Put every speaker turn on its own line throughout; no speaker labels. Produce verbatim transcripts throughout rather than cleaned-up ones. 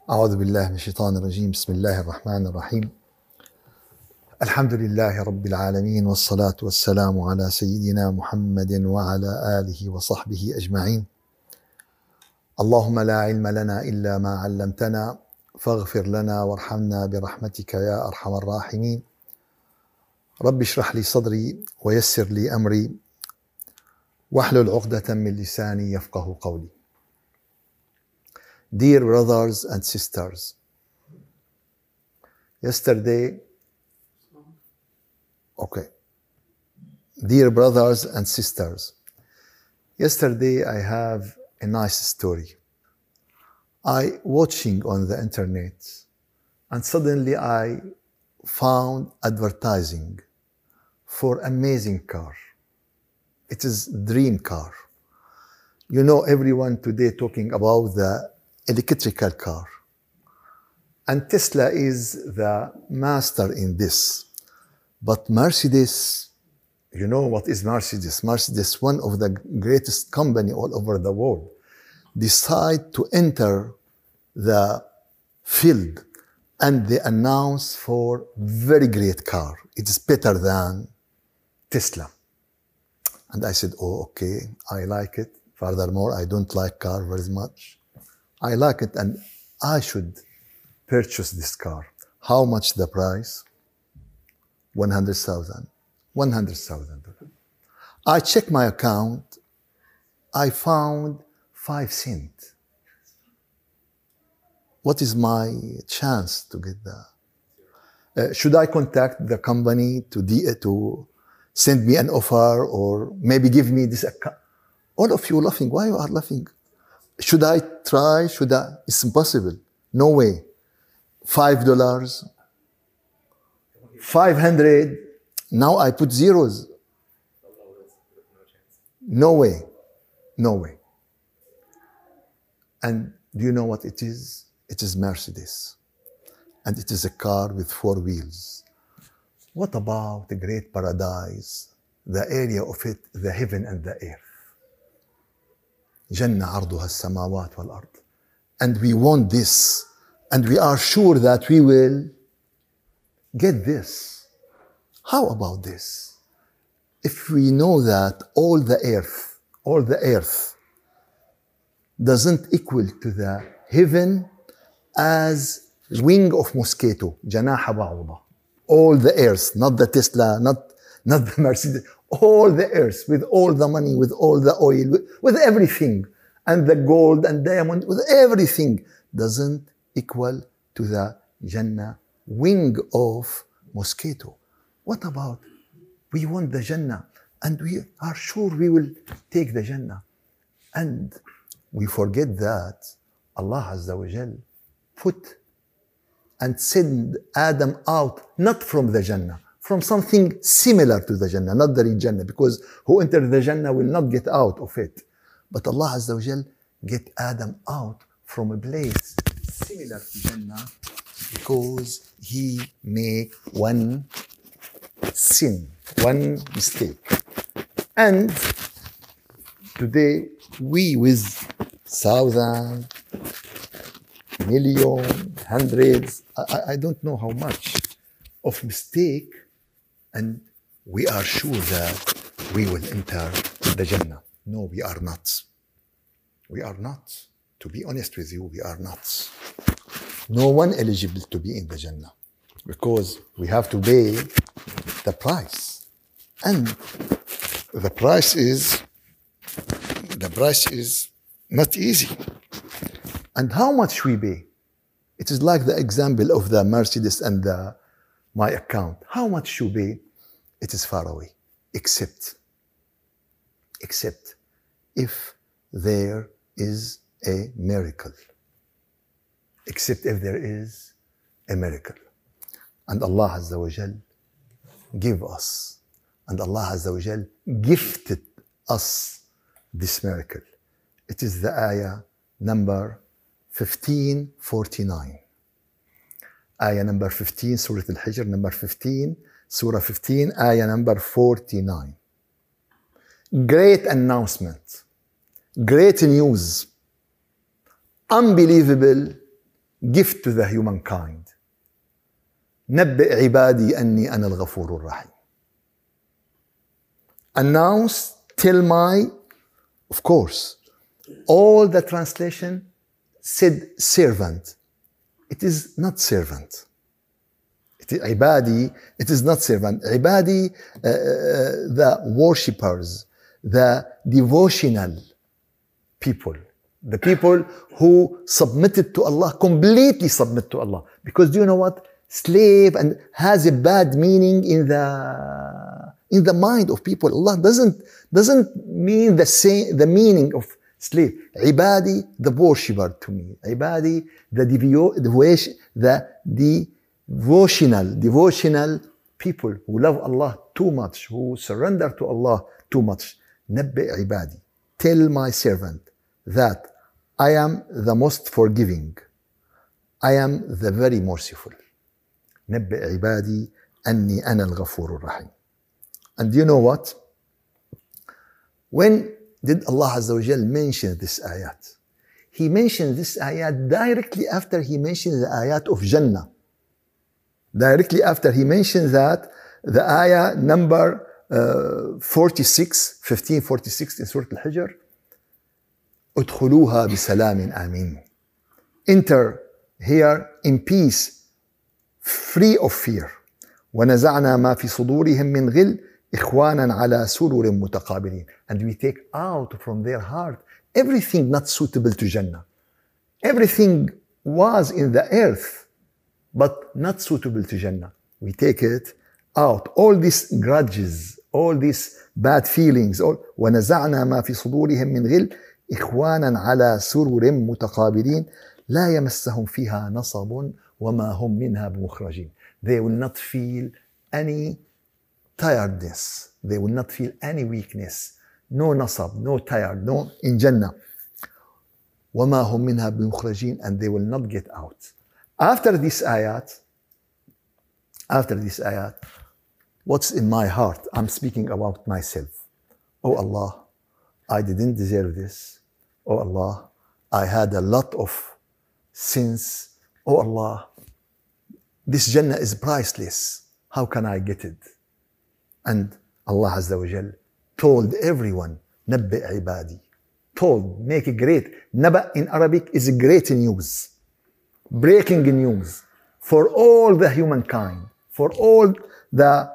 أعوذ بالله من الشيطان الرجيم. بسم الله الرحمن الرحيم. الحمد لله رب العالمين، والصلاة والسلام على سيدنا محمد وعلى آله وصحبه أجمعين. اللهم لا علم لنا إلا ما علمتنا فاغفر لنا وارحمنا برحمتك يا أرحم الراحمين. رب اشرح لي صدري ويسر لي أمري واحلل عقدة من لساني يفقه قولي. Dear brothers and sisters, yesterday, okay, dear brothers and sisters, yesterday I have a nice story. I watching on the internet and suddenly I found advertising for amazing car. It is dream car. You know, everyone today talking about the electrical car. And Tesla is the master in this. But Mercedes, you know what is Mercedes? Mercedes, one of the greatest company all over the world, decide to enter the field and they announce for very great car. It is better than Tesla. And I said, oh, okay, I like it. Furthermore, I don't like car very much. I like it and I should purchase this car. How much the price? one hundred thousand. one hundred thousand. I checked my account. I found five cents. What is my chance to get that? Uh, should I contact the company to, de- to send me an offer or maybe give me this account? All of you laughing. Why you are laughing? Should I try? Should I? It's impossible. No way. Five dollars. Five hundred. Now I put zeros. No way. No way. And do you know what it is? It is Mercedes. And it is a car with four wheels. What about the great paradise? The area of it, the heaven and the earth. جنة عرضها السماوات والأرض. And we want this. And we are sure that we will get this. How about this? If we know that all the earth, all the earth doesn't equal to the heaven as wing of mosquito, جناح بعوضة. All the earth, not the Tesla, not, not the Mercedes, all the earth, with all the money, with all the oil, with, with everything, and the gold and diamond, with everything, doesn't equal to the Jannah wing of mosquito. What about, we want the Jannah, and we are sure we will take the Jannah. And we forget that Allah Azza wa Jal put and send Adam out, not from the Jannah, from something similar to the Jannah, not the real Jannah, because who entered the Jannah will not get out of it. But Allah Azza wa Jal get Adam out from a place similar to Jannah because he make one sin, one mistake. And today we with thousand, million, hundreds, I, I don't know how much of mistake, and we are sure that we will enter the Jannah. No, we are not. We are not. To be honest with you, we are not. No one eligible to be in the Jannah because we have to pay the price. And the price is, the price is not easy. And how much we pay? It is like the example of the Mercedes and the my account. How much you pay? It is far away. Except, except if there is a miracle. Except if there is a miracle. And Allah Azza wa Jal give us, and Allah Azza wa Jal gifted us this miracle. It is the ayah number fifteen forty-nine. Ayah number fifteen, Surah Al-Hijr, number fifteen, Surah fifteen, ayah number forty-nine. Great announcement, great news, unbelievable gift to the humankind. نبئ عبادي أني أنا الغفور الرحيم. Announce, tell my, of course, all the translation said servant. It is not servant. It is عبادي, it is not servant. عبادي, uh, the worshippers, the devotional people, the people who submitted to Allah, completely submit to Allah. Because do you know what? Slave and has a bad meaning in the in the mind of people. Allah doesn't doesn't mean the same the meaning of slave. Ibadi, the worshipper to me. Ibadi, the devotion, the devotional, devotional people who love Allah too much, who surrender to Allah too much. Nabbi ibadi. Tell my servant that I am the most forgiving. I am the very merciful. نبئ عبادي أني أنا الغفور الرحيم. And you know what? When did Allah Azza wa Jal mention this ayat? He mentioned this ayat directly after he mentioned the ayat of Jannah. Directly after he mentioned that, the ayah number uh, forty-six, fifteen forty-six in Surah Al-Hijr, ادخلوها بسلام آمين. Enter here in peace, free of fear. ونزعنا ما في صدورهم من غل إخوانا على سرر متقابلين. And we take out from their heart everything not suitable to Jannah. Everything was in the earth, but not suitable to Jannah. We take it out. All these grudges, all these bad feelings. All ونزعنا ما في صدورهم من غل إخوانا على سرر متقابلين لا يمسهم فيها نصب وما هم منها بمخرجين. They will not feel any tiredness. They will not feel any weakness. No nasab, no tired, no in Jannah. وما هم منها بمخرجين, and they will not get out. After this ayat, after this ayat, what's in my heart? I'm speaking about myself. Oh Allah, I didn't deserve this. Oh Allah, I had a lot of sins. Oh Allah, this Jannah is priceless. How can I get it? And Allah Azza wa Jal told everyone, Nabbi ibadi. Told, make it great. Naba in Arabic is great news. Breaking news for all the humankind, for all the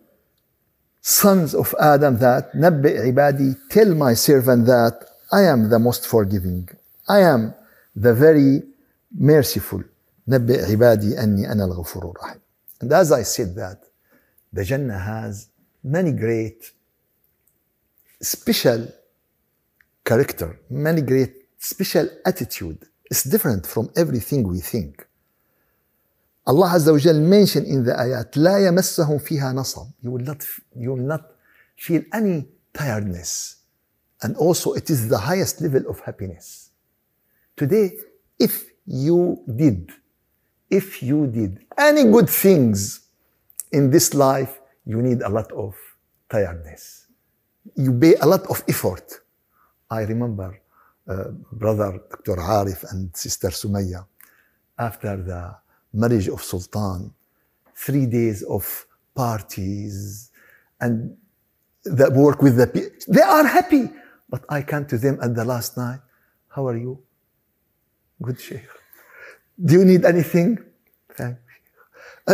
sons of Adam, that Nabbi ibadi, tell my servant that I am the most forgiving. I am the very merciful. نبئ عبادي أني أنا الغفور الرحيم. And as I said that, the Jannah has many great special character, many great special attitude. It's different from everything we think. Allah Azza wa Jal mentioned in the ayat, لا يمسهم فيها نصب. You will not, you will not feel any tiredness. And also it is the highest level of happiness. Today, if you did If you did any good things in this life, you need a lot of tiredness. You pay a lot of effort. I remember uh, brother Doctor Arif and sister Sumaya, after the marriage of Sultan, three days of parties and the work with the people. They are happy. But I came to them at the last night. How are you? Good, Sheikh. Do you need anything? Thank you. Uh,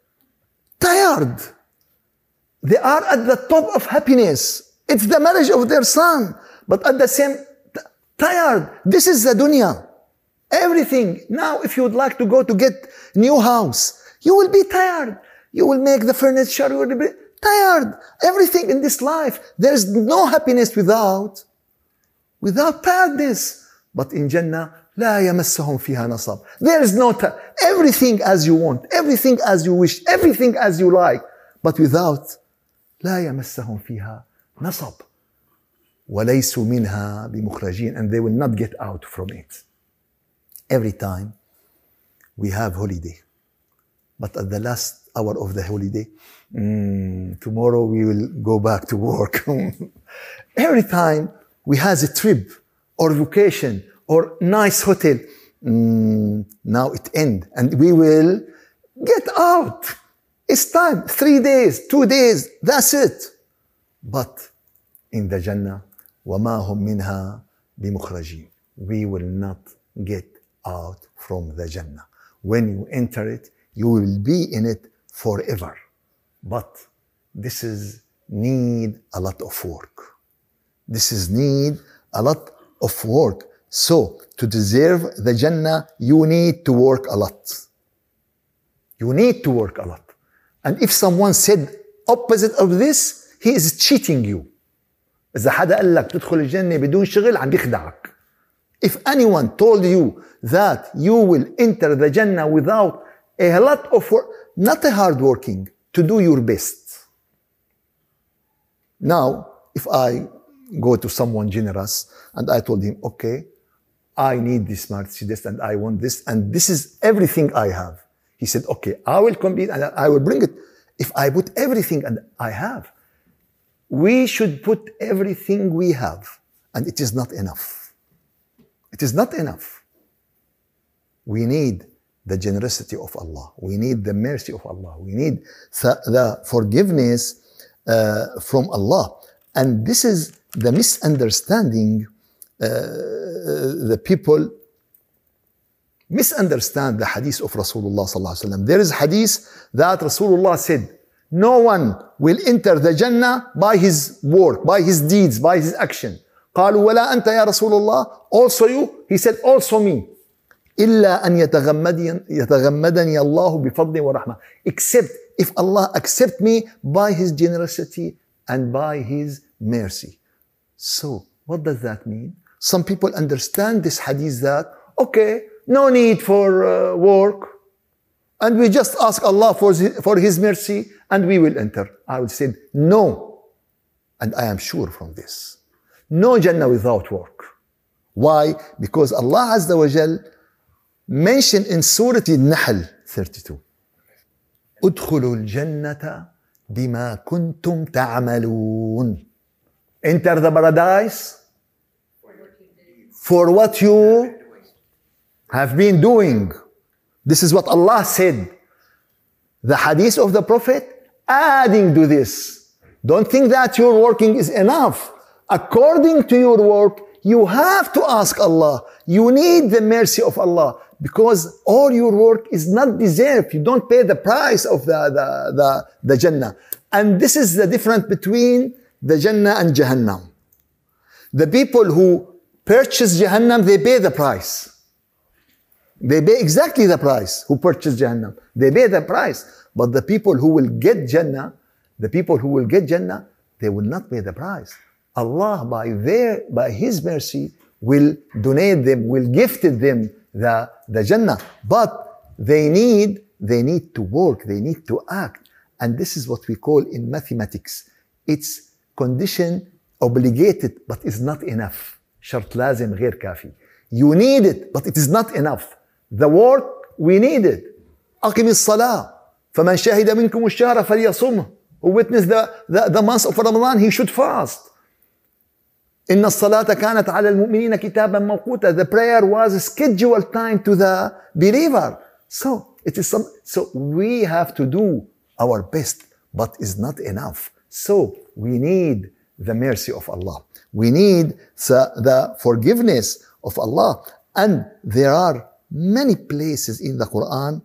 tired. They are at the top of happiness. It's the marriage of their son. But at the same t- tired. This is the dunya. Everything. Now, if you would like to go to get new house, you will be tired. You will make the furniture. You will be tired. Everything in this life. There is no happiness without, without tiredness. But in Jannah, لا يمسهم فيها نصب. There is no time. Everything as you want, everything as you wish, everything as you like, but without لا يمسهم فيها نصب وليسوا منها بمخرجين, and they will not get out from it. Every time we have holiday, but at the last hour of the holiday, mm, tomorrow we will go back to work. Every time we have a trip or vacation or nice hotel, mm, now it end and we will get out. It's time, three days, two days, that's it. But in the Jannah, وَمَا هُمْ مِنْهَا بِمُخْرَجِينَ. We will not get out from the Jannah. When you enter it, you will be in it forever. But this is need a lot of work. This is need a lot of work. So to deserve the Jannah, you need to work a lot. You need to work a lot. And if someone said opposite of this, he is cheating you. إذا حدا قال لك تدخل الجنة بدون شغل عم بيخدعك. If anyone told you that you will enter the Jannah without a lot of work, not a hard working, to do your best. Now, if I go to someone generous and I told him, okay, I need this Mercedes and I want this and this is everything I have. He said, okay, I will complete and I will bring it. If I put everything and I have, we should put everything we have, and it is not enough. It is not enough. We need the generosity of Allah. We need the mercy of Allah. We need the forgiveness uh, from Allah. And this is the misunderstanding. Uh, the people misunderstand the hadith of Rasulullah sallallahu alaihi wasallam. There is hadith that Rasulullah said, no one will enter the Jannah by his work, by his deeds, by his action. قالوا ولا أنت يا رسول الله. Also you? He said, also me. إلا أن يتغمدني يتغمدني الله بفضل ورحمة. Except if Allah accept me by His generosity and by His mercy. So, what does that mean? Some people understand this hadith that, okay, no need for uh, work, and we just ask Allah for his, for His mercy, and we will enter. I would say, no. And I am sure from this. No Jannah without work. Why? Because Allah Azza wa Jal mentioned in Surah Al-Nahl thirty-two, ادخلوا الجنة بما كنتم تعملون. Enter the paradise for what you have been doing. This is what Allah said. The hadith of the Prophet adding to this. Don't think that your working is enough. According to your work, you have to ask Allah. You need the mercy of Allah because all your work is not deserved. You don't pay the price of the, the, the, the Jannah. And this is the difference between the Jannah and Jahannam. The people who purchase Jahannam, they pay the price. They pay exactly the price who purchase Jahannam. They pay the price. But the people who will get Jannah, the people who will get Jannah, they will not pay the price. Allah, by their, by His mercy, will donate them, will gift them the, the Jannah. But they need, they need to work, they need to act. And this is what we call in mathematics. It's condition obligated, but it's not enough. شرط لازم غير كافي. You need it, but it is not enough. The work, we need it. أقم الصلاة فمن شهد منكم الشهر فليصمه. Who witnessed the, the, the month of Ramadan, he should fast. إن الصلاة كانت على المؤمنين كتابا موقوتا. The prayer was a scheduled time to the believer. So it is some. So we have to do our best, but it's not enough. So we need the mercy of Allah. We need the, the forgiveness of Allah. And there are many places in the Quran.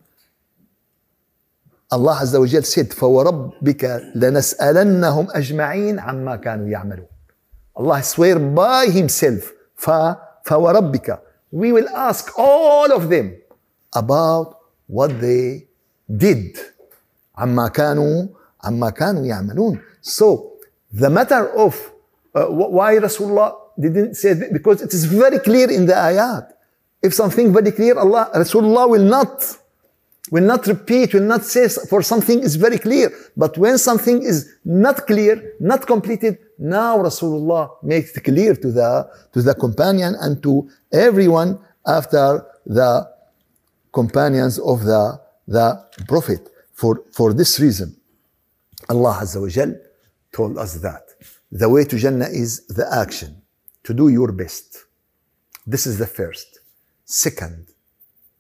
Allah Azza wa Jal said, فَوَرَبِّكَ لَنَسْأَلَنَّهُمْ أَجْمَعِينَ عَمَّا كَانُوا يَعْمَلُونَ. Allah swear by Himself, فَوَرَبِّكَ. We will ask all of them about what they did. عَمَّا كَانُوا عَمَّا كَانُوا يَعْمَلُونَ. So, the matter of uh, why Rasulullah didn't say that, because it is very clear in the ayat. If something very clear, Allah, Rasulullah will not, will not repeat, will not say for something is very clear. But when something is not clear, not completed, now Rasulullah makes it clear to the, to the companion and to everyone after the companions of the, the Prophet. For, for this reason, Allah Azza wa Jal told us that the way to Jannah is the action, to do your best. This is the first. Second,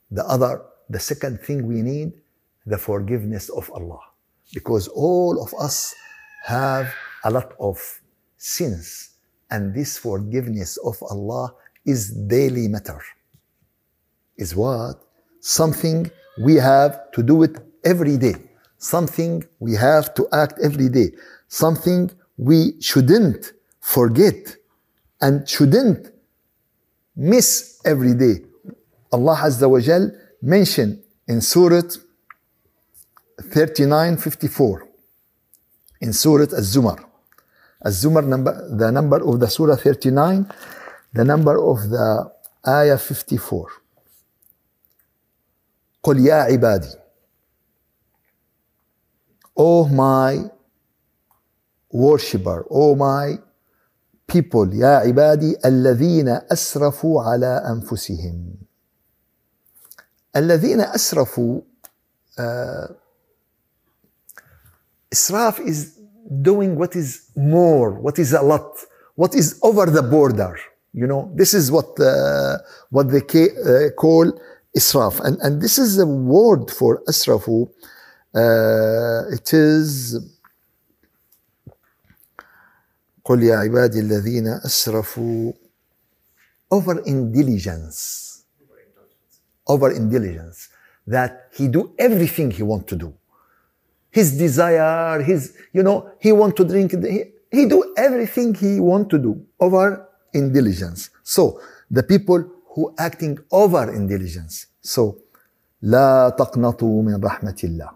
The other, the second thing we need, the forgiveness of Allah. Because all of us have a lot of sins. And this forgiveness of Allah is daily matter. Is what? Something we have to do it every day. Something we have to act every day. Something we shouldn't forget and shouldn't miss every day. Allah Azza wa Jal mentioned in Surah thirty-nine fifty-four, in Surah Az-Zumar. Az-Zumar, number, the number of the Surah thirty-nine, the number of the Ayah fifty-four. قل يا عبادي, O my worshipper, O my people, يا عبادي الذين أسرفوا على أنفسهم. الذين أسرفوا, uh, إسراف is doing what is more, what is a lot, what is over the border. You know, this is what uh, what they ca- uh, call إسراف. And, and this is a word for أسرفوا. Uh, it is قل يا عبادي الذين أسرفوا, over indulgence, over indulgence, that he do everything he want to do. His desire, his, you know, he want to drink, he, he do everything he want to do, over indulgence. So, the people who acting over indulgence. So, لا تقنطوا من رحمة الله.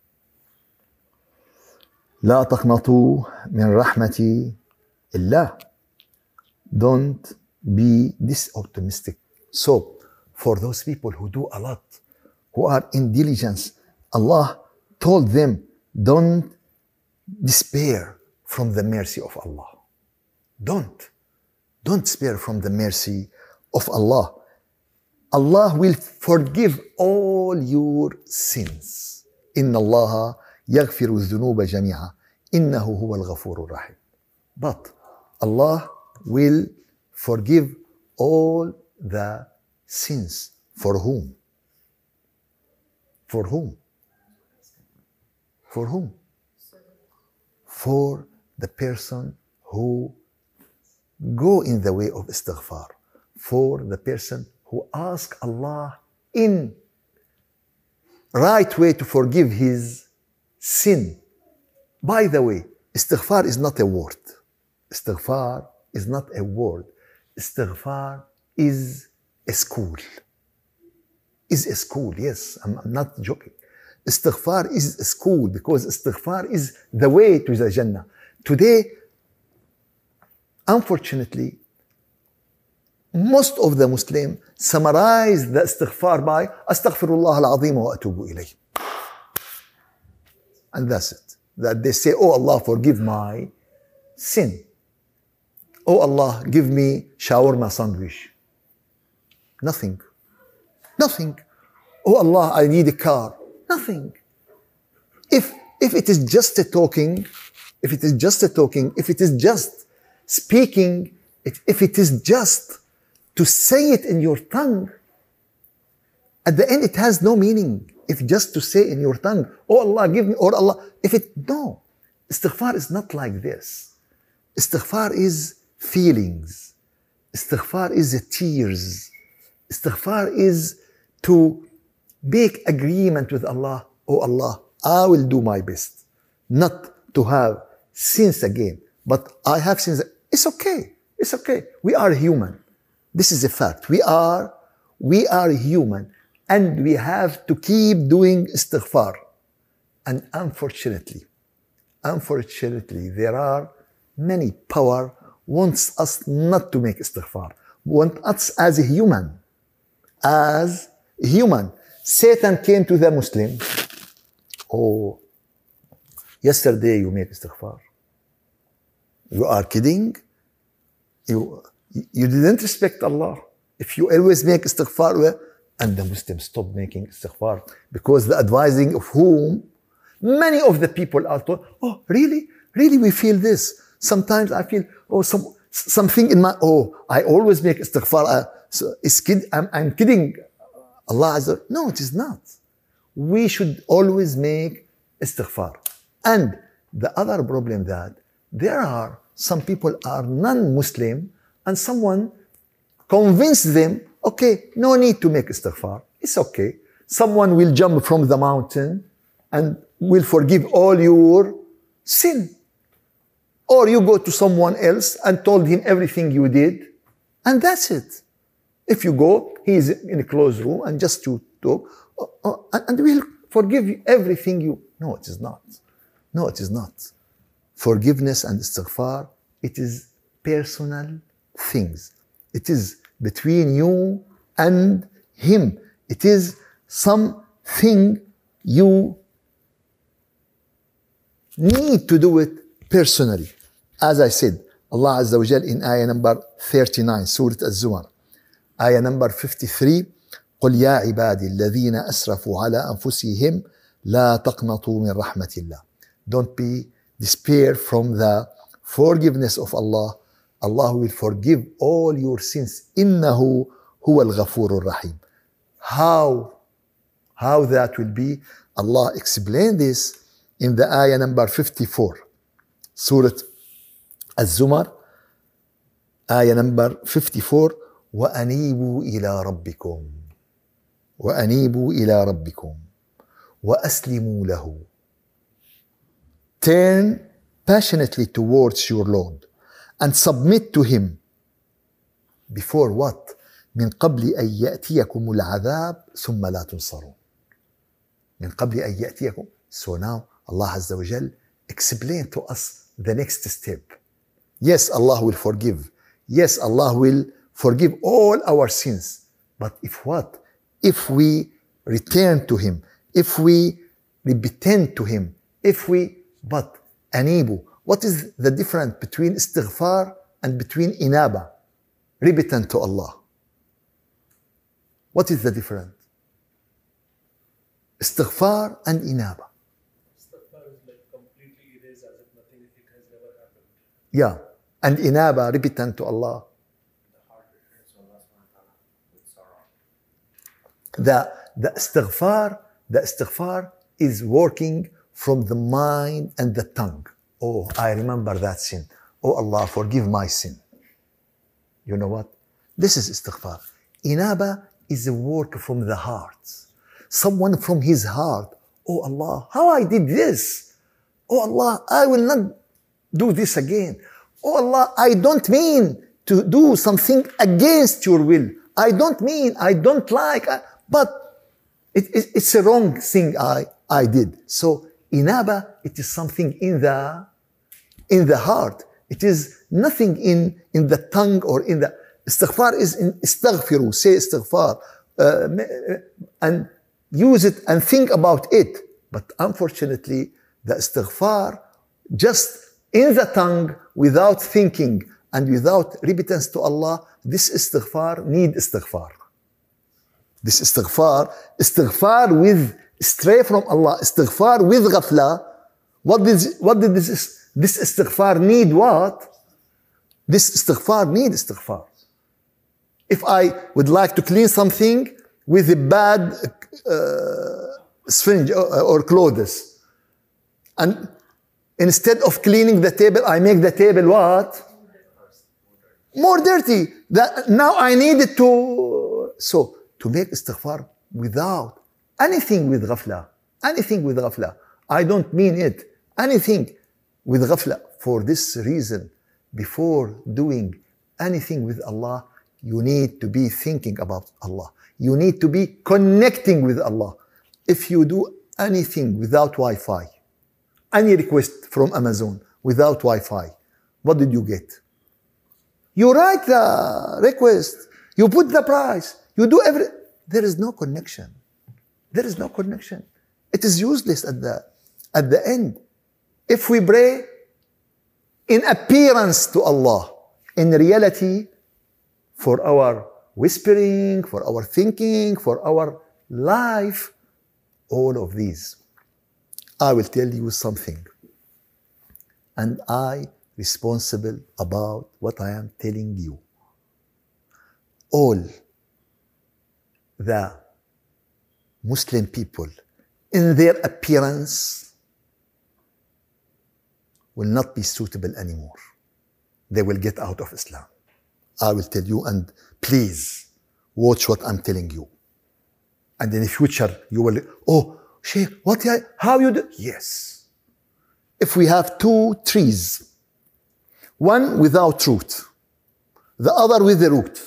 لا تقنطوا من رحمة الله. Don't be this optimistic. So, for those people who do a lot, who are in diligence, Allah told them, don't despair from the mercy of Allah. Don't. Don't despair from the mercy of Allah. Allah will forgive all your sins. إن الله يغفر الذنوب جميعا إنه هو الغفور الرحيم. But Allah will forgive all the sins. For whom? For whom? For whom? For the person who go in the way of istighfar. For the person who ask Allah in right way to forgive his sin. By the way, istighfar is not a word. Istighfar is not a word. Istighfar is a school. Is a school, yes, I'm, I'm not joking. Istighfar is a school because istighfar is the way to the Jannah. Today, unfortunately, most of the Muslims summarize the istighfar by Astaghfirullah al-Azim wa atubu ilayh. And that's it. That they say, oh Allah, forgive my sin. Oh Allah, give me shawarma sandwich. Nothing. Nothing. Oh Allah, I need a car. Nothing. If if it is just a talking, if it is just a talking, if it is just speaking, if, if it is just to say it in your tongue, at the end it has no meaning. If just to say in your tongue, oh Allah, give me, or Allah, if it, no. Istighfar is not like this. Istighfar is feelings. Istighfar is tears. Istighfar is to make agreement with Allah. Oh Allah, I will do my best. Not to have sins again. But I have sins. It's okay. It's okay. We are human. This is a fact. We are, we are human. And we have to keep doing istighfar. And unfortunately, unfortunately, there are many power wants us not to make istighfar. Want us as a human. As a human. Satan came to the Muslim. Oh, yesterday you made istighfar. You are kidding? You, you didn't respect Allah. If you always make istighfar, and the Muslims stopped making istighfar because the advising of whom many of the people are told, oh, really? Really, we feel this. Sometimes I feel, oh, some something in my, oh, I always make istighfar. Uh, so it's kid, I'm, I'm kidding Allah Azza wa Jal. No, it is not. We should always make istighfar. And the other problem that there are some people are non-Muslim and someone convinced them, okay, no need to make istighfar. It's okay. Someone will jump from the mountain and will forgive all your sin. Or you go to someone else and told him everything you did, and that's it. If you go, he is in a closed room and just to talk, and will forgive you everything you... No, it is not. No, it is not. Forgiveness and istighfar, it is personal things. It is between you and him. It is something you need to do it personally. As I said, Allah Azza wa Jal in ayah number thirty-nine, Surah Az-Zumar, ayah number fifty-three, قل يا عبادي الذين أسرفوا على أنفسهم لا تقنطوا من رحمة الله. Don't be despair from the forgiveness of Allah. Allah will forgive all your sins. إنه هو الغفور الرحيم. How? How that will be? Allah explained this in the ayah number fifty-four, Surah Az-Zumar, ayah number fifty-four, وأنيبوا إلى ربكم وأنيبوا إلى ربكم وأسلموا له. Turn passionately towards your Lord and submit to him. Before what? من قبل أن يأتيكم العذاب ثم لا تنصرون. من قبل أن يأتيكم. So now Allah Azza wa Jal explain to us the next step. Yes, Allah will forgive. Yes, Allah will forgive all our sins. But if what? If we return to him, if we repent to him, if we, but anibu. What is the difference between istighfar and between inaba? Repentant to Allah. What is the difference? Istighfar and inaba.
Istighfar is like completely erased as if nothing it has never happened.
Yeah. And inaba, repentant to Allah.
The heart returns to Allah subhanahu wa ta'ala with sorrow.
The, the istighfar, the istighfar is working from the mind and the tongue. Oh, I remember that sin. Oh Allah, forgive my sin. You know what? This is istighfar. Inaba is a work from the heart. Someone from his heart. Oh Allah, how I did this? Oh Allah, I will not do this again. Oh Allah, I don't mean to do something against your will. I don't mean, I don't like, but it, it, it's a wrong thing I, I did. So inaba, it is something in the in the heart. It is nothing in, in the tongue or in the... Istighfar is in istaghfiru, say istighfar, uh, and use it and think about it. But unfortunately, the istighfar just in the tongue without thinking and without repentance to Allah, this istighfar need istighfar. This istighfar, istighfar with stray from Allah, istighfar with ghafla. What did, what did this, this istighfar need what? This istighfar need istighfar. If I would like to clean something with a bad uh, syringe or, or clothes, and instead of cleaning the table, I make the table what? More dirty. That now I need it to... So, to make istighfar without anything with ghafla, anything with ghafla. I don't mean it. Anything with ghafla. For this reason, before doing anything with Allah, you need to be thinking about Allah. You need to be connecting with Allah. If you do anything without Wi-Fi, any request from Amazon without Wi-Fi, what did you get? You write the request, you put the price, you do every... There is no connection. There is no connection. It is useless at the, at the end. If we pray in appearance to Allah, in reality, for our whispering, for our thinking, for our life, all of these. I will tell you something. And I responsible about what I am telling you. All the Muslim people in their appearance will not be suitable anymore. They will get out of Islam. I will tell you, and please watch what I'm telling you. And in the future, you will, oh, Sheikh, what, how you do? Yes. If we have two trees, one without root, the other with the root,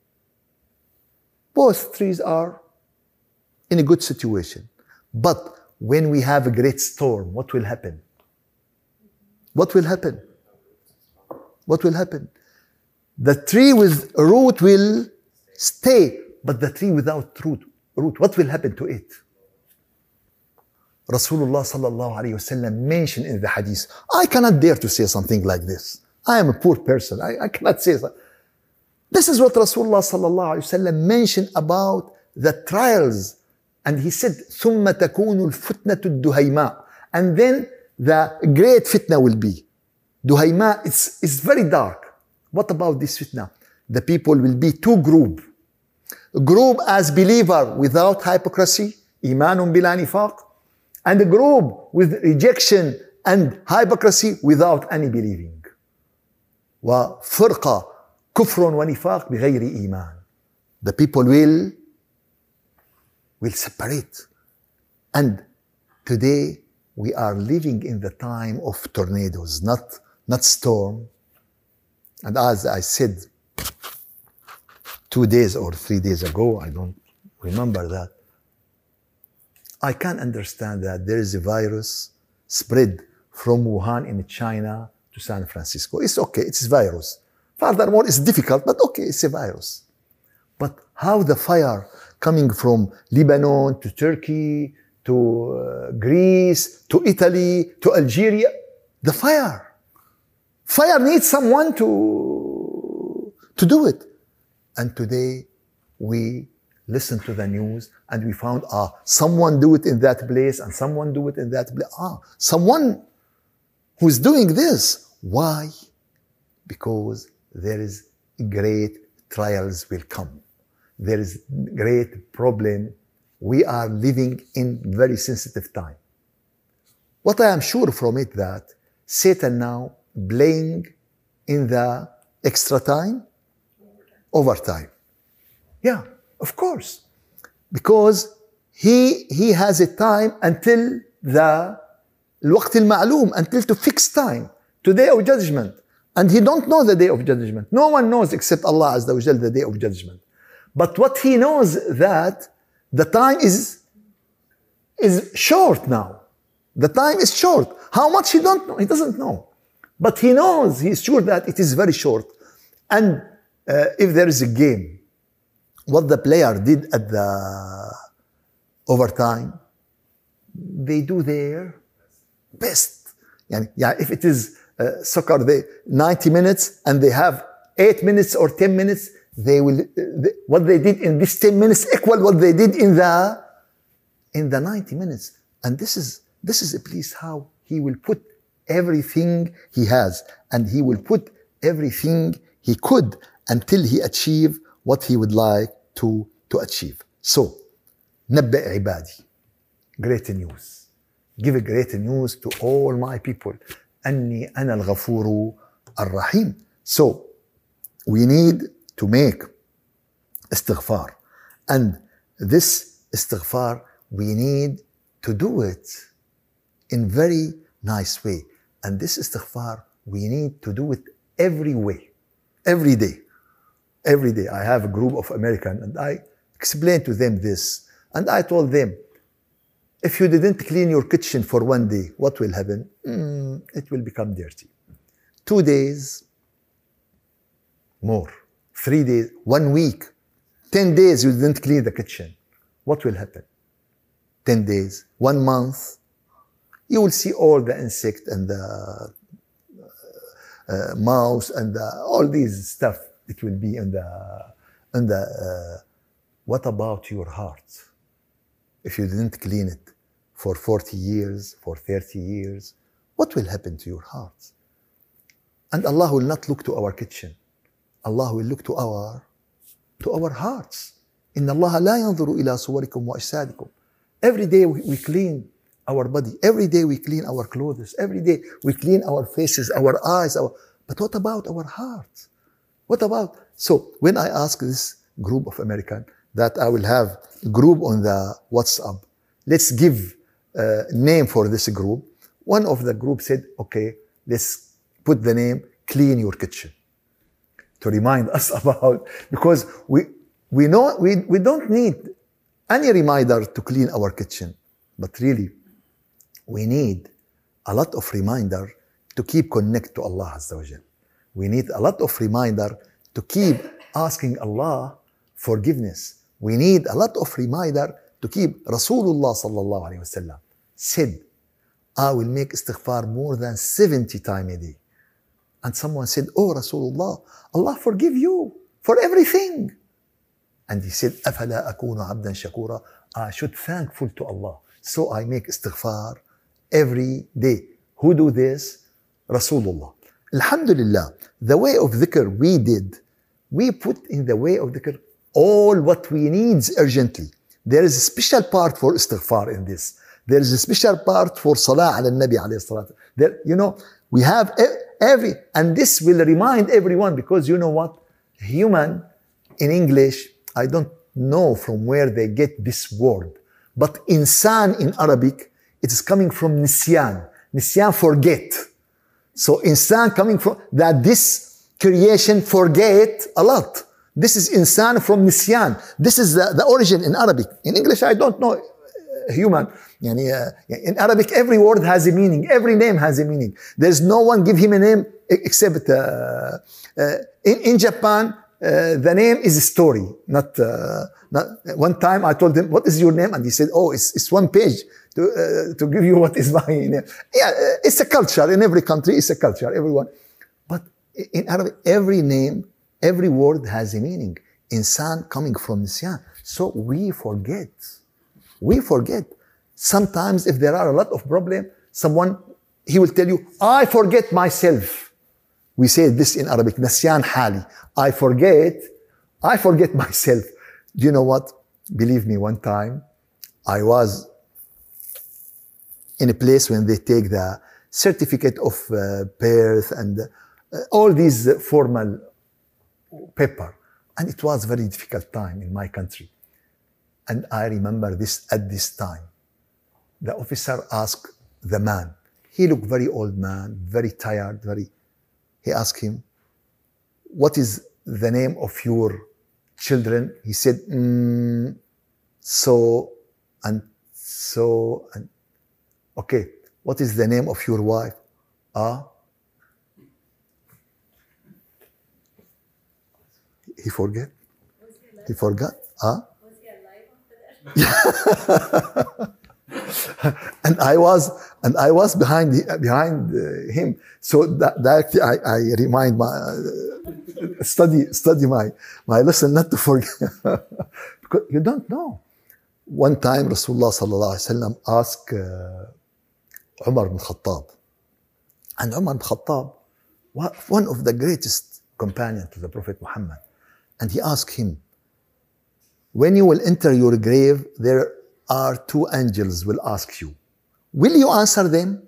both trees are in a good situation. But when we have a great storm, what will happen? What will happen? What will happen? The tree with a root will stay, but the tree without root, root, what will happen to it? Rasulullah sallallahu alayhi wasallam mentioned in the hadith, I cannot dare to say something like this. I am a poor person. I, I cannot say that. This is what Rasulullah sallallahu alayhi wasallam mentioned about the trials. And he said, ثُمَّ تَكُونُ الْفُتْنَةُ الدُّهَيْمَاء. And then the great fitna will be. Duhayma, it's, it's very dark. What about this fitna? The people will be two group. A group as believer without hypocrisy, imanun bila nifaq, and a group with rejection and hypocrisy without any believing. وَفِرْقَةٌ كُفْرٌ وَنِفَاقٌ بِغَيْرِ إِيمَانٍ. The people will, will separate. And today we are living in the time of tornadoes, not, not storm. And as I said two days or three days ago, I don't remember that, I can understand that there is a virus spread from Wuhan in China to San Francisco. It's okay, it's a virus. Furthermore, it's difficult, but okay, it's a virus. But how the fire coming from Lebanon to Turkey to uh, Greece to Italy to Algeria, the fire. Fire needs someone to, to do it. And today we listen to the news and we found, ah, someone do it in that place and someone do it in that place. Ah, someone who's doing this. Why? Because there is great trials will come. There is great problem. We are living in very sensitive time. What I am sure from it that Satan now playing in the extra time, overtime. Yeah, of course. Because he, he has a time until the الوقت المعلوم, until to fix time, to day of judgment. And he don't know the day of judgment. No one knows except Allah Azza wa Jal the day of judgment. But what he knows that the time is, is short now. The time is short. How much he don't know? He doesn't know. But he knows, he's sure that it is very short. And uh, if there is a game, what the player did at the overtime, they do their best. Yani, yeah, if it is uh, soccer, they ninety minutes and they have eight minutes or ten minutes, they will, uh, they, what they did in this ten minutes equal what they did in the, in the ninety minutes. And this is, this is a place how he will put everything he has, and he will put everything he could until he achieve what he would like to, to achieve. So, نبئ عبادي. Great news. Give a great news to all my people. أني أنا الغفور الرحيم. So, we need to make istighfar. And this istighfar, we need to do it in very nice way. And this istighfar, we need to do it every way, every day, every day. I have a group of Americans and I explained to them this. And I told them, if you didn't clean your kitchen for one day, what will happen? Mm, it will become dirty. Two days, more. Three days, one week, ten days you didn't clean the kitchen. What will happen? Ten days, one month, you will see all the insect and the uh, mouse and the, all these stuff. It will be in the, in the uh, what about your heart? If you didn't clean it for forty years, for thirty years, what will happen to your heart? And Allah will not look to our kitchen. Allah will look to our, to our hearts. إن الله لا ينظر إلى صوركم وأجسادكم Every day we, we clean our body. Every day we clean our clothes. Every day we clean our faces, our eyes. Our, but what about our heart? What about? So when I ask this group of American that I will have a group on the WhatsApp, let's give a name for this group. One of the group said, okay, let's put the name Clean Your Kitchen, to remind us about, because we we know we, we don't need any reminder to clean our kitchen, but really we need a lot of reminder to keep connect to Allah Azza wa Jal. We need a lot of reminder to keep asking Allah forgiveness. We need a lot of reminder to keep Rasulullah sallallahu alayhi wa sallam said, I will make istighfar more than seventy times a day. And someone said, oh Rasulullah, Allah forgive you for everything. And he said, أَفَلَا أَكُونُ عَبْدًا شَكُورًا, I should thankful to Allah. So I make istighfar every day. Who do this? Rasulullah. Alhamdulillah, the way of dhikr we did, we put in the way of dhikr all what we need urgently. There is a special part for istighfar in this. There is a special part for salah ala nabi alayhi salatu. There, you know, we have every, and this will remind everyone, because you know what? Human in English, I don't know from where they get this word, but insan in Arabic, it is coming from nisyan. Nisyan, forget. So insan coming from that, this creation forget a lot. This is insan from nisyan. This is the, the origin in Arabic. In English, I don't know. Human. In Arabic, every word has a meaning. Every name has a meaning. There's no one give him a name except uh, uh, in, in Japan, uh, the name is a story. Not, uh, not one time I told him, what is your name? And he said, oh, it's, it's one page to, uh, to give you what is my name. Yeah, it's a culture. In every country, it's a culture. Everyone. But in Arabic, every name, every word has a meaning. Insan coming from nisyan. So we forget. We forget. Sometimes if there are a lot of problems, someone, he will tell you, I forget myself. We say this in Arabic, Nasyan hali. I forget, I forget myself. Do you know what? Believe me, one time, I was in a place when they take the certificate of uh, birth and uh, all these uh, formal paper. And it was a very difficult time in my country. And I remember this at this time. The officer asked the man. He looked very old man, very tired, very. He asked him, what is the name of your children? He said, mm, so and so and. Okay, what is the name of your wife? Ah. He forget. He forgot. Ah. and I was and I was behind behind uh, him. So that, that I, I remind my uh, study study my my lesson not to forget because you don't know. One time Rasulullah sallallahu alaihi wasallam asked uh, Umar bin Khattab, and Umar bin Khattab, one of the greatest companions to the Prophet Muhammad, and he asked him, when you will enter your grave, there are two angels will ask you, will you answer them?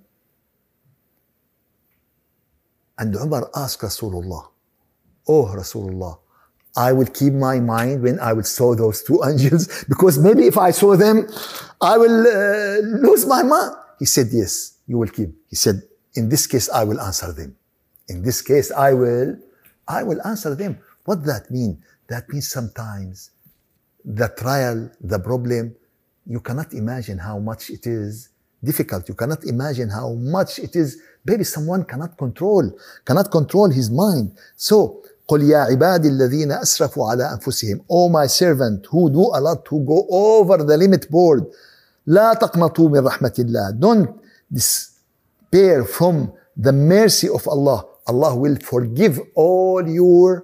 And Umar asked Rasulullah, oh Rasulullah, I will keep my mind when I will saw those two angels, because maybe if I saw them, I will uh, lose my mind. He said, yes, you will keep. He said, in this case, I will answer them. In this case, I will, I will answer them. What that mean? That means sometimes the trial, the problem, you cannot imagine how much it is difficult. You cannot imagine how much it is. Maybe someone cannot control, cannot control his mind. So, قُلْ يَا عِبَادِ الَّذِينَ أَسْرَفُوا عَلَىٰ أَنفُسِهِمْ, oh my servant who do a lot, who go over the limit board, لَا تَقْنَطُوا مِنْ رَحْمَةِ اللَّهِ, don't despair from the mercy of Allah. Allah will forgive all your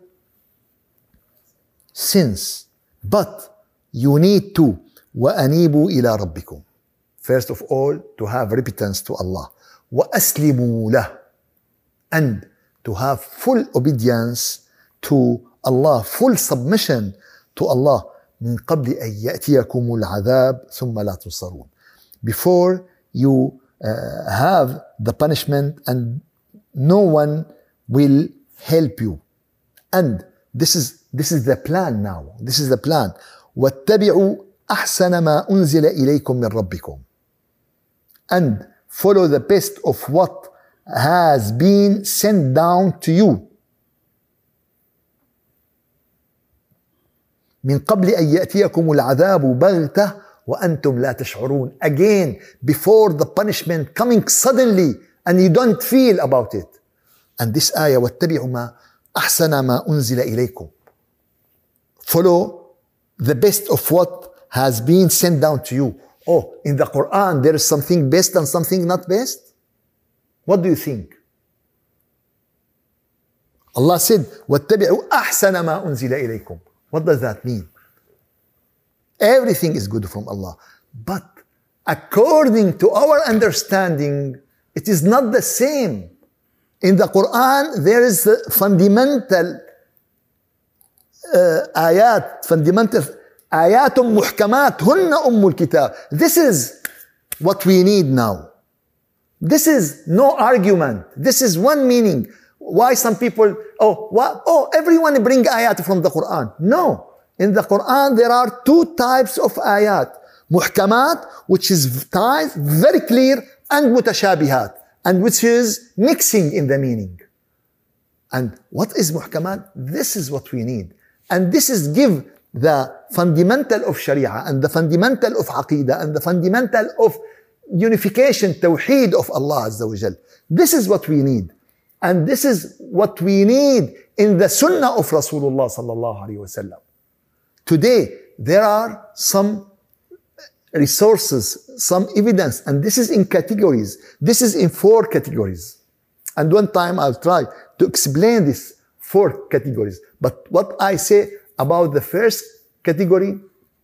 sins. But you need to وَأَنِيبُوا إِلَىٰ رَبِّكُمْ. First of all, to have repentance to Allah. وَأَسْلِمُوا لَهُ. And to have full obedience to Allah, full submission to Allah. من قبل أن يأتيكم العذاب ثم لا تنصرون. Before you uh, have the punishment and no one will help you. And this is this is the plan now. This is the plan. واتبعوا أحسن ما أنزل إليكم من ربكم. And follow the best of what has been sent down to you. من قبل أن يأتيكم العذاب بغتة وأنتم لا تشعرون. Again, before the punishment coming suddenly and you don't feel about it. And this ayah, واتبعوا ما أحسن ما أنزل إليكم. Follow the best of what has been sent down to you. Oh, in the Quran there is something best and something not best? What do you think? Allah said, واتبعوا أحسن ما أنزل إليكم. What does that mean? Everything is good from Allah. But according to our understanding, it is not the same. In the Quran, there is a fundamental uh, ayat, fundamental ayat muhkamat, hunna ummul kitab. This is what we need now. This is no argument. This is one meaning. Why some people, oh, what, oh, everyone bring ayat from the Quran. No. In the Quran, there are two types of ayat. Muhkamat, which is very clear, and mutashabihat, and which is mixing in the meaning. And what is muhkamat? This is what we need. And this is give the fundamental of Sharia, and the fundamental of Aqidah, and the fundamental of unification, tawheed of Allah Azza wa Jal. This is what we need. And this is what we need in the Sunnah of Rasulullah sallallahu alaihi wasallam. Today, there are some resources, some evidence, and this is in categories. This is in four categories. And one time I'll try to explain these four categories. But what I say about the first category,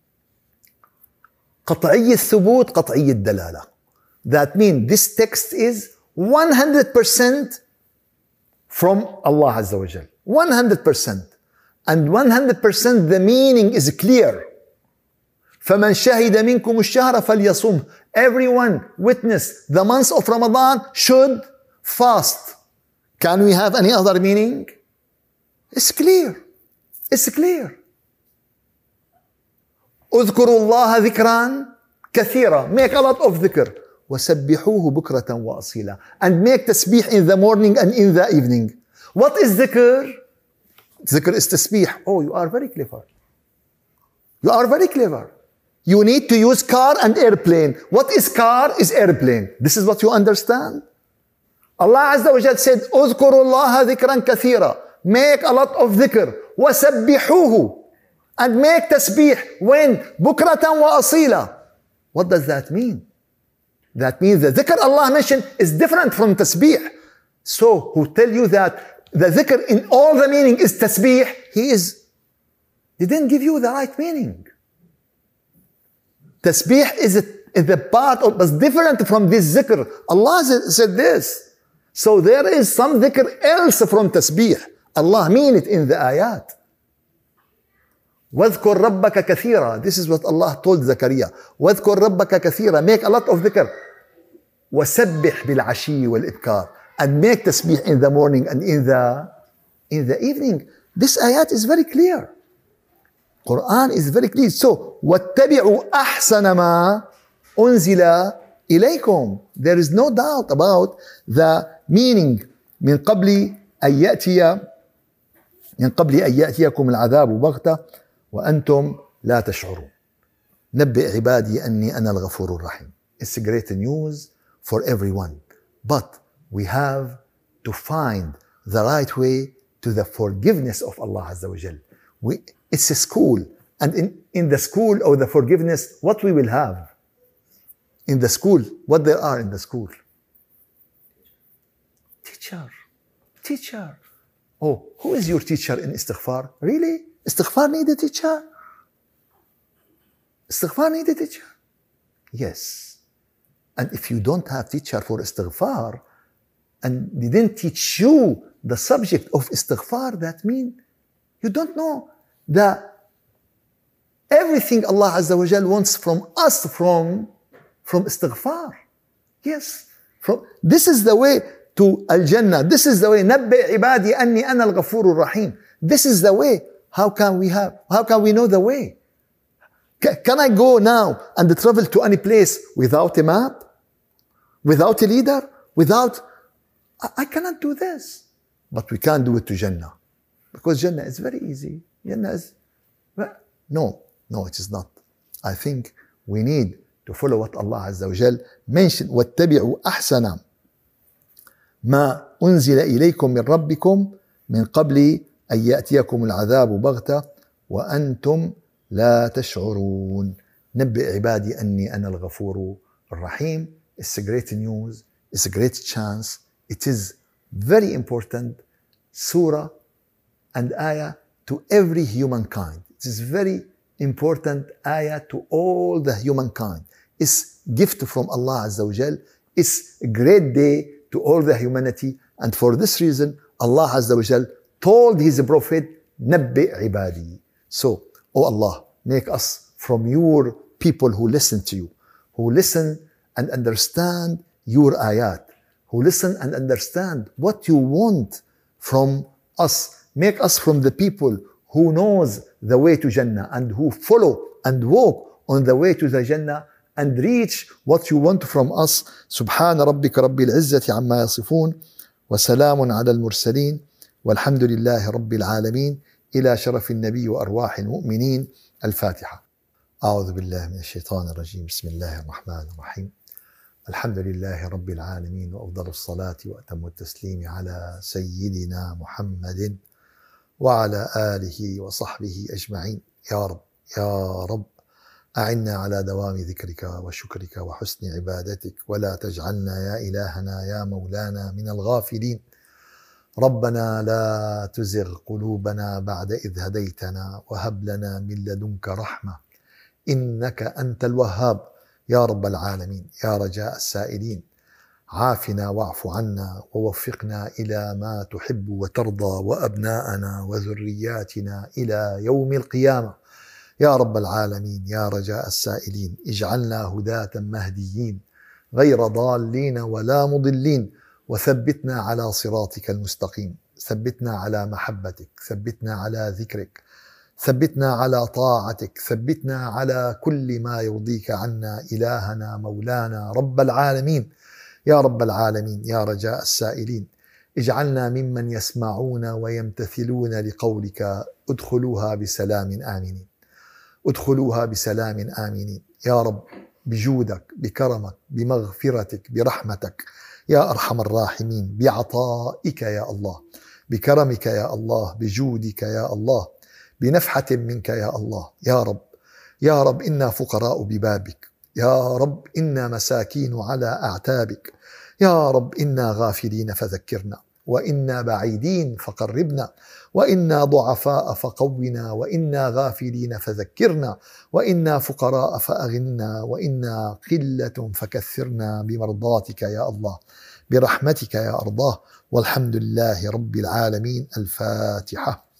قطعي الثبوت قطعي الدلالة. That means this text is one hundred percent from Allah Azza wa Jal. one hundred percent. And one hundred percent the meaning is clear. فَمَنْ شَهِدَ مِنْكُمُ الشَّهْرَ فَلْيَصُمْ. Everyone witness the month of Ramadan should fast. Can we have any other meaning? It's clear. It's clear. اذكروا الله ذكرا كثيرا. Make a lot of dhikr. وَسَبِّحُوهُ بُكْرَةً وَأَصِيلًا. And make tasbih in the morning and in the evening. What is dhikr? Dhikr is tasbih. Oh, you are very clever. You are very clever. You need to use car and airplane. What is car? Is airplane. This is what you understand? Allah Azza wa Jal said, اذكروا الله ذكرا كثيرا. Make a lot of dhikr. وَسَبِّحُوهُ. And make tasbih. When? بُكْرَةً وَأَصِيلًا. What does that mean? That means the dhikr Allah mentioned is different from tasbih. So, who tell you that the dhikr in all the meaning is tasbih, he is, he didn't give you the right meaning. Tasbih is, a, is the part of, is different from this dhikr. Allah said this. So there is some dhikr else from tasbih. Allah mean it in the ayat. وَاذْكُرْ رَبَّكَ كَثِيرًا. This is what Allah told Zakaria. وَاذْكُرْ رَبَّكَ كَثِيرًا. Make a lot of dhikr. وَسَبِّحْ بِالْعَشِيِّ وَالْإِبْكَارِ. And make tasbih in the morning and in the, in the evening. This ayat is very clear. Quran is very clear. So, وَاتَّبِعُوا أَحْسَنَ مَا أُنزِلَ إِلَيْكُمْ. There is no doubt about the meaning. من قبل أن يأتي من قبل أن يأتيكم العذاب بغتة وأنتم لا تشعرون. نبئ عبادي أني أنا الغفور الرحيم. It's great news for everyone. But we have to find the right way to the forgiveness of Allah Azza wa Jal. We, it's a school. And in, in the school of the forgiveness, what we will have? In the school, what there are in the school? Teacher. Teacher. Oh, who is your teacher in istighfar? Really? Istighfar need a teacher? Istighfar need a teacher? Yes. And if you don't have teacher for istighfar, and they didn't teach you the subject of istighfar, that means you don't know the Everything Allah Azza wa Jal wants from us from, from istighfar. Yes. From, this is the way to Al-Jannah. This is the way. نَبِّئْ عِبَادِي أَنِّي أَنَا الْغَفُورُ الرَّحِيمُ. This is the way. How can we have, how can we know the way? Can I go now and travel to any place without a map? Without a leader? Without, I, I cannot do this. But we can't do it to Jannah. Because Jannah is very easy. Jannah is, no, no, it is not. I think we need to follow what Allah Azza wa Jal mentioned. وَاتَّبِعُوا أَحْسَنَ مَا أُنزِلَ إِلَيْكُم مِّن رَبِّكُم مِّن قَبْلِ أَن يَأْتِيَكُمُ الْعَذَابُ بَغْتَةً وَأَنْتُمْ لا تشعرون. نبئ عبادي أني أنا الغفور الرحيم. It's a great news. It's a great chance. It is very important surah and ayah to every humankind. It is very important ayah to all the humankind. It's gift from Allah Azza wa Jal. It's a great day to all the humanity. And for this reason, Allah Azza wa Jal told His Prophet, نبئ عبادي. So, oh Allah, make us from your people who listen to you, who listen and understand your ayat, who listen and understand what you want from us. Make us from the people who knows the way to Jannah and who follow and walk on the way to the Jannah and reach what you want from us. سبحان ربك رب العزة عما يصفون وسلام على المرسلين والحمد لله رب العالمين. إلى شرف النبي وأرواح المؤمنين. الفاتحة. أعوذ بالله من الشيطان الرجيم. بسم الله الرحمن الرحيم. الحمد لله رب العالمين وأفضل الصلاة وأتم التسليم على سيدنا محمد وعلى آله وصحبه أجمعين. يا رب يا رب أعنا على دوام ذكرك وشكرك وحسن عبادتك ولا تجعلنا يا إلهنا يا مولانا من الغافلين. ربنا لا تزغ قلوبنا بعد إذ هديتنا وهب لنا من لدنك رحمة إنك أنت الوهاب. يا رب العالمين يا رجاء السائلين عافنا واعف عنا ووفقنا إلى ما تحب وترضى وأبناءنا وذرياتنا إلى يوم القيامة. يا رب العالمين يا رجاء السائلين اجعلنا هداة مهديين غير ضالين ولا مضلين وثبتنا على صراطك المستقيم. ثبتنا على محبتك، ثبتنا على ذكرك، ثبتنا على طاعتك، ثبتنا على كل ما يرضيك عنا إلهنا مولانا رب العالمين. يا رب العالمين يا رجاء السائلين اجعلنا ممن يسمعون ويمتثلون لقولك ادخلوها بسلام آمنين. ادخلوها بسلام آمنين يا رب، بجودك بكرمك بمغفرتك برحمتك يا أرحم الراحمين، بعطائك يا الله، بكرمك يا الله، بجودك يا الله، بنفحة منك يا الله. يا رب يا رب إنا فقراء ببابك، يا رب إنا مساكين على أعتابك، يا رب إنا غافلين فذكرنا، وإنا بعيدين فقربنا، وإنا ضعفاء فقونا، وإنا غافلين فذكرنا، وإنا فقراء فأغننا، وإنا قلة فكثرنا بمرضاتك يا الله، برحمتك يا أرضاه. والحمد لله رب العالمين. الفاتحة.